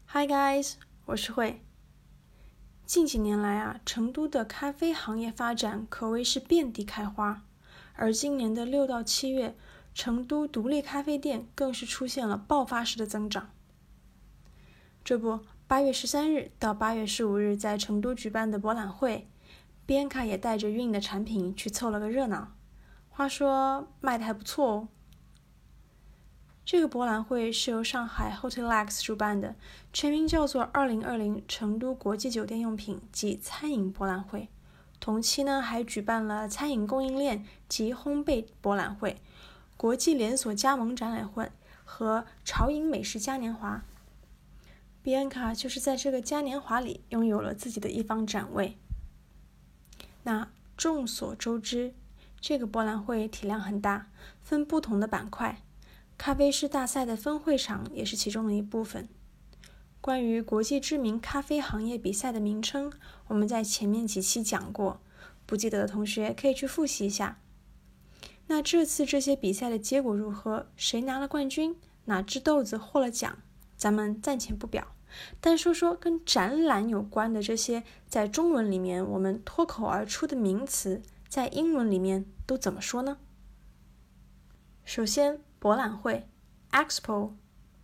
Hi guys， 我是慧。近几年来成都的咖啡行业发展可谓是遍地开花，而今年的6到7月，成都独立咖啡店更是出现了爆发式的增长。这不，8月13日到8月15日在成都举办的博览会，Bianca也带着Yun的产品去凑了个热闹，话说卖得还不错哦。这个博览会是由上海 HOTELEX 主办的，全名叫做2020成都国际酒店用品及餐饮博览会。同期呢，还举办了餐饮供应链及烘焙博览会、国际连锁加盟展览会和潮饮美食嘉年华。Bianca 就是在这个嘉年华里拥有了自己的一方展位。那众所周知，这个博览会体量很大，分不同的板块。咖啡师大赛的分会场也是其中的一部分。关于国际知名咖啡行业比赛的名称，我们在前面几期讲过，不记得的同学可以去复习一下。那这次这些比赛的结果如何？谁拿了冠军？哪只豆子获了奖？咱们暂且不表，但说说跟展览有关的这些在中文里面我们脱口而出的名词，在英文里面都怎么说呢？首先，博览会 Expo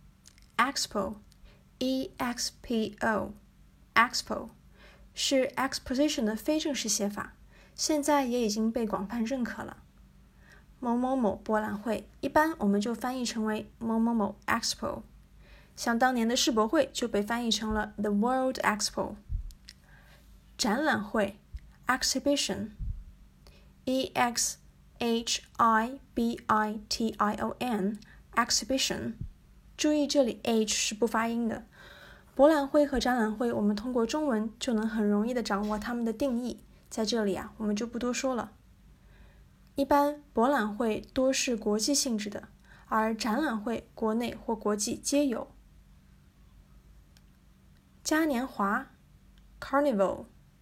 E-X-P-O Expo 是 Exposition 的非正式写法，现在也已经被广泛认可了。某某某博览会一般我们就翻译成为某某某 Expo， 像当年的世博会就被翻译成了 The World Expo。 展览会 Exhibition E-X-H-I-B-I-T-I-O-N Exhibition， 注意这里 H 是不发音的。博览会和展览会我们通过中文就能很容易的掌握它们的定义，在这里我们就不多说了。一般博览会多是国际性质的，而展览会国内或国际皆有。嘉年华 Carnival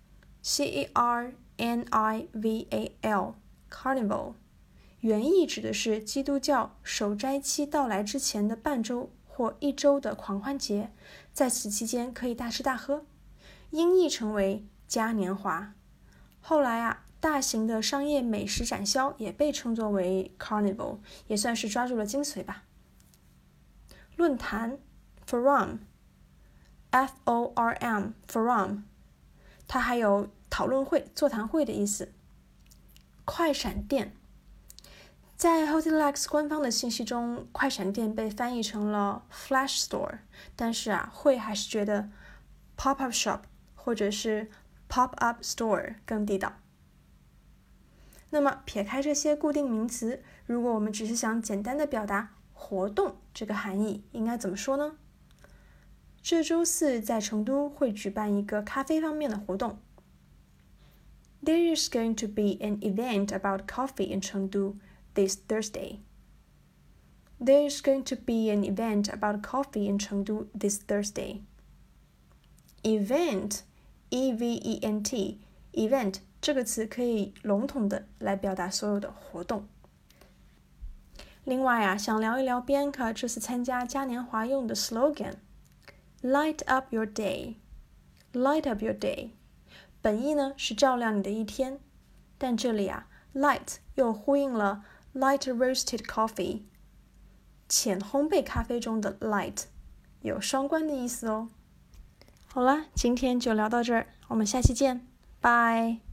C-A-R-N-I-V-A-L Carnival 原意指的是基督教守斋期到来之前的半周或1周的狂欢节，在此期间可以大吃大喝，音译成为嘉年华。后来大型的商业美食展销也被称作为 Carnival， 也算是抓住了精髓吧。论坛 Forum F-O-R-M Forum， 它还有讨论会、座谈会的意思。快闪店，在 HOTELEX 官方的信息中，快闪店被翻译成了 Flash Store， 但是会还是觉得 Pop-up Shop 或者是 Pop-up Store 更地道。那么撇开这些固定名词，如果我们只是想简单的表达活动这个含义，应该怎么说呢？这周4在成都会举办一个咖啡方面的活动。There is going to be an event about coffee in Chengdu this Thursday. There is going to be an event about coffee in Chengdu this Thursday. Event, E-V-E-N-T, event 这个词可以笼统的来表达所有的活动。另外想聊一聊 Bianca 这次参加嘉年华用的 slogan Light up your day. Light up your day. 本意呢是照亮你的一天，但这里light 又呼应了 light roasted coffee， 浅烘焙咖啡中的 light， 有双关的意思哦。好了，今天就聊到这儿，我们下期见，拜。